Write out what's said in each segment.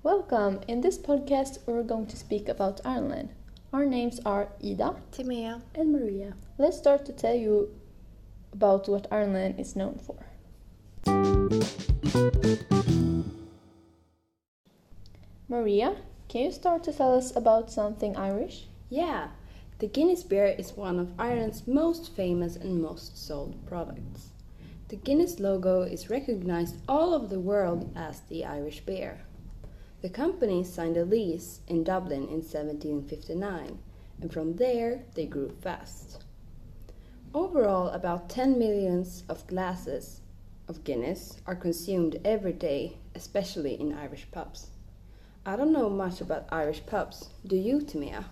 Welcome! In this podcast, we're going to speak about Ireland. Our names are Ida, Timea, and Maria. Let's start to tell you about what Ireland is known for. Maria, can you start to tell us about something Irish? Yeah, the Guinness beer is one of Ireland's most famous and most sold products. The Guinness logo is recognized all over the world as the Irish beer. The company signed a lease in Dublin in 1759, and from there they grew fast. Overall, about 10 million of glasses of Guinness are consumed every day, especially in Irish pubs. I don't know much about Irish pubs. Do you, Timea?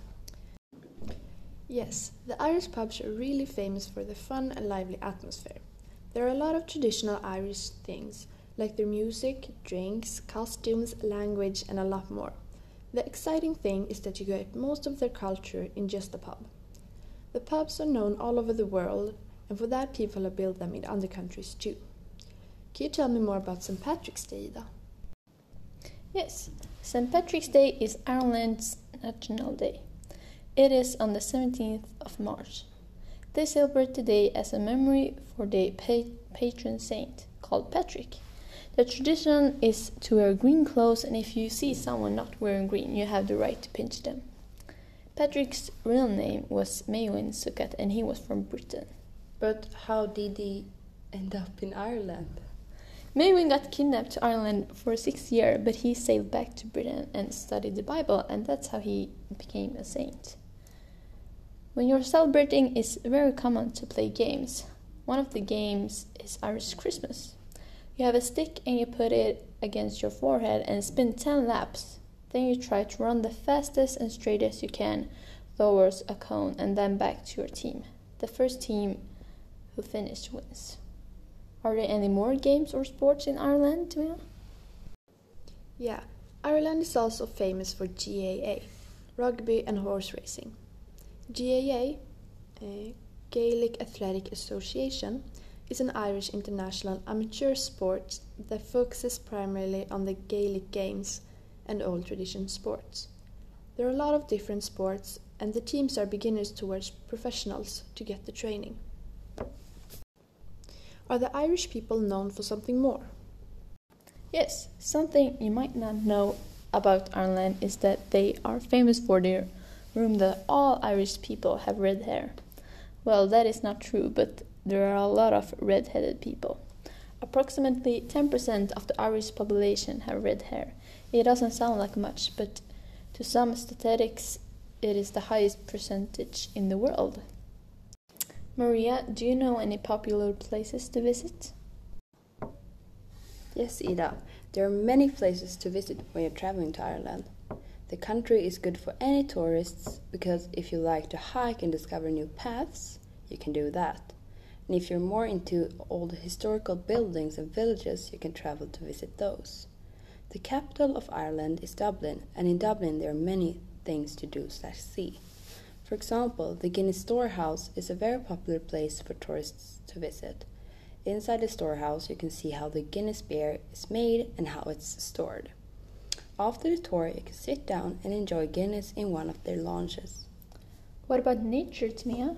Yes, the Irish pubs are really famous for their fun and lively atmosphere. There are a lot of traditional Irish things, like their music, drinks, costumes, language, and a lot more. The exciting thing is that you get most of their culture in just a pub. The pubs are known all over the world, and for that people have built them in other countries too. Can you tell me more about St. Patrick's Day, Ida? Yes, St. Patrick's Day is Ireland's national day. It is on the 17th of March. They celebrate the day as a memory for their patron saint, called Patrick. The tradition is to wear green clothes, and if you see someone not wearing green, you have the right to pinch them. Patrick's real name was Maewyn Succat, and he was from Britain. But how did he end up in Ireland? Maewyn got kidnapped to Ireland for 6 years, but he sailed back to Britain and studied the Bible, and that's how he became a saint. When you're celebrating, it's very common to play games. One of the games is Irish Christmas. You have a stick and you put it against your forehead and spin 10 laps. Then you try to run the fastest and straightest you can towards a cone and then back to your team. The first team who finishes wins. Are there any more games or sports in Ireland, Timea? Yeah, Ireland is also famous for GAA, rugby and horse racing. GAA, Gaelic Athletic Association, is an Irish international amateur sport that focuses primarily on the Gaelic games and old tradition sports. There are a lot of different sports, and the teams are beginners towards professionals to get the training. Are the Irish people known for something more? Yes, something you might not know about Ireland is that they are famous for their rumor that all Irish people have red hair. Well, that is not true, but there are a lot of red-headed people. Approximately 10% of the Irish population have red hair. It doesn't sound like much, but to some statistics, it is the highest percentage in the world. Maria, do you know any popular places to visit? Yes, Ida. There are many places to visit when you're traveling to Ireland. The country is good for any tourists because if you like to hike and discover new paths, you can do that. And if you're more into old historical buildings and villages, you can travel to visit those. The capital of Ireland is Dublin, and in Dublin there are many things to do/see. For example, the Guinness Storehouse is a very popular place for tourists to visit. Inside the storehouse you can see how the Guinness beer is made and how it's stored. After the tour, you can sit down and enjoy Guinness in one of their lounges. What about nature, Timea?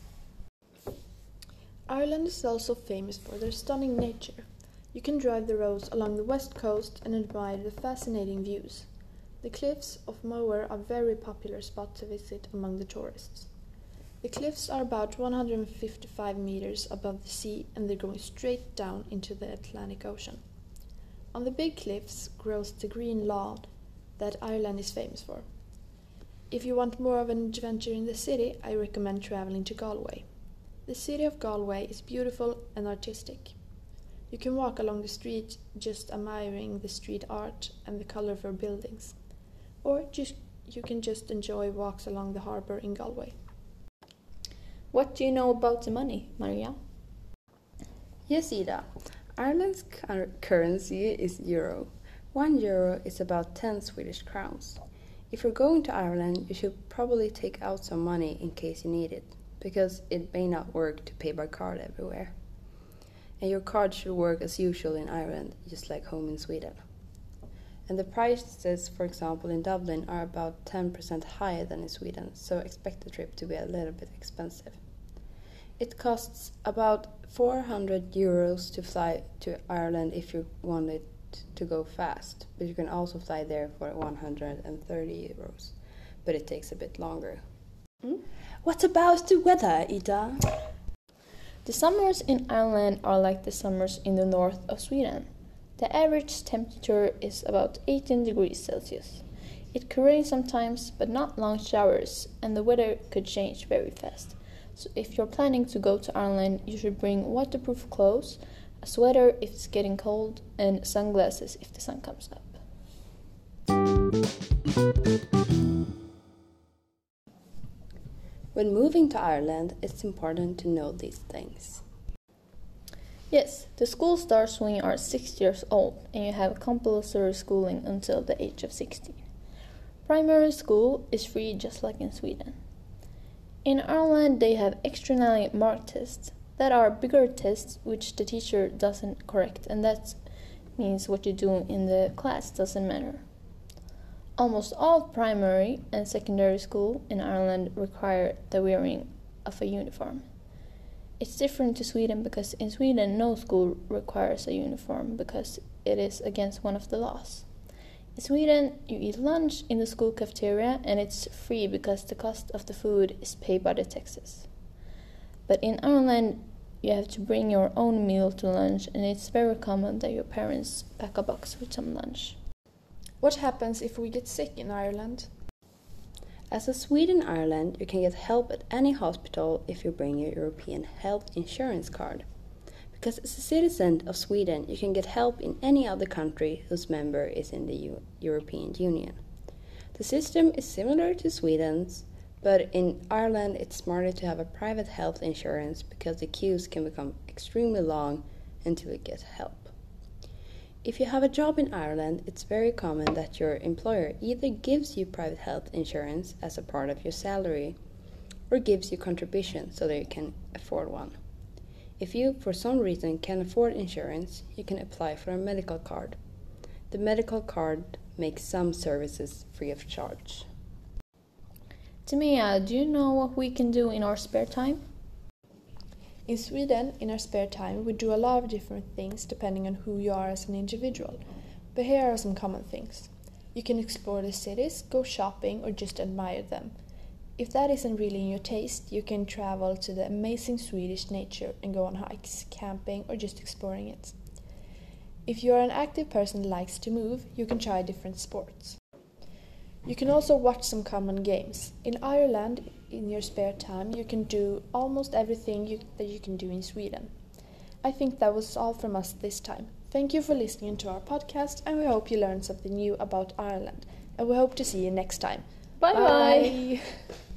Ireland is also famous for their stunning nature. You can drive the roads along the west coast and admire the fascinating views. The cliffs of Moher are a very popular spot to visit among the tourists. The cliffs are about 155 meters above the sea and they're going straight down into the Atlantic Ocean. On the big cliffs grows the green lawn that Ireland is famous for. If you want more of an adventure in the city, I recommend traveling to Galway. The city of Galway is beautiful and artistic. You can walk along the street just admiring the street art and the colorful buildings. Or you can just enjoy walks along the harbour in Galway. What do you know about the money, Maria? Yes, Ida. Ireland's currency is euro. 1 euro is about 10 Swedish crowns. If you're going to Ireland, you should probably take out some money in case you need it, because it may not work to pay by card everywhere. And your card should work as usual in Ireland, just like home in Sweden. And the prices, for example, in Dublin are about 10% higher than in Sweden, so expect the trip to be a little bit expensive. It costs about €400 to fly to Ireland if you want it to go fast, but you can also fly there for €130, but it takes a bit longer. What about the weather, Ida? The summers in Ireland are like the summers in the north of Sweden. The average temperature is about 18 degrees Celsius. It could rain sometimes, but not long showers, and the weather could change very fast. So if you're planning to go to Ireland, you should bring waterproof clothes, a sweater if it's getting cold, and sunglasses if the sun comes up. When moving to Ireland, it's important to know these things. Yes, the school starts when you are 6 years old and you have compulsory schooling until the age of 16. Primary school is free just like in Sweden. In Ireland they have externally marked tests that are bigger tests which the teacher doesn't correct, and that means what you do in the class doesn't matter. Almost all primary and secondary school in Ireland require the wearing of a uniform. It's different to Sweden because in Sweden no school requires a uniform because it is against one of the laws. In Sweden you eat lunch in the school cafeteria and it's free because the cost of the food is paid by the taxes. But in Ireland you have to bring your own meal to lunch, and it's very common that your parents pack a box with some lunch. What happens if we get sick in Ireland? As a Swede in Ireland, you can get help at any hospital if you bring your European health insurance card. Because as a citizen of Sweden, you can get help in any other country whose member is in the European Union. The system is similar to Sweden's, but in Ireland it's smarter to have a private health insurance because the queues can become extremely long until you get help. If you have a job in Ireland, it's very common that your employer either gives you private health insurance as a part of your salary or gives you contributions so that you can afford one. If you, for some reason, can afford insurance, you can apply for a medical card. The medical card makes some services free of charge. Timea, do you know what we can do in our spare time? In Sweden, in our spare time, we do a lot of different things depending on who you are as an individual. But here are some common things. You can explore the cities, go shopping, or just admire them. If that isn't really in your taste, you can travel to the amazing Swedish nature and go on hikes, camping, or just exploring it. If you are an active person that likes to move, you can try different sports. You can also watch some common games. In Ireland, in your spare time, you can do almost everything that you can do in Sweden. I think that was all from us this time. Thank you for listening to our podcast, and we hope you learned something new about Ireland. And we hope to see you next time. Bye bye!